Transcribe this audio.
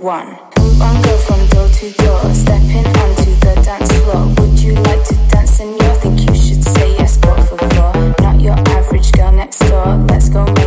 one. Move on, go from door to door, stepping onto the dance floor. Would you like to dance, senor? Think you should say yes, but for four. Not your average girl next door. Let's go.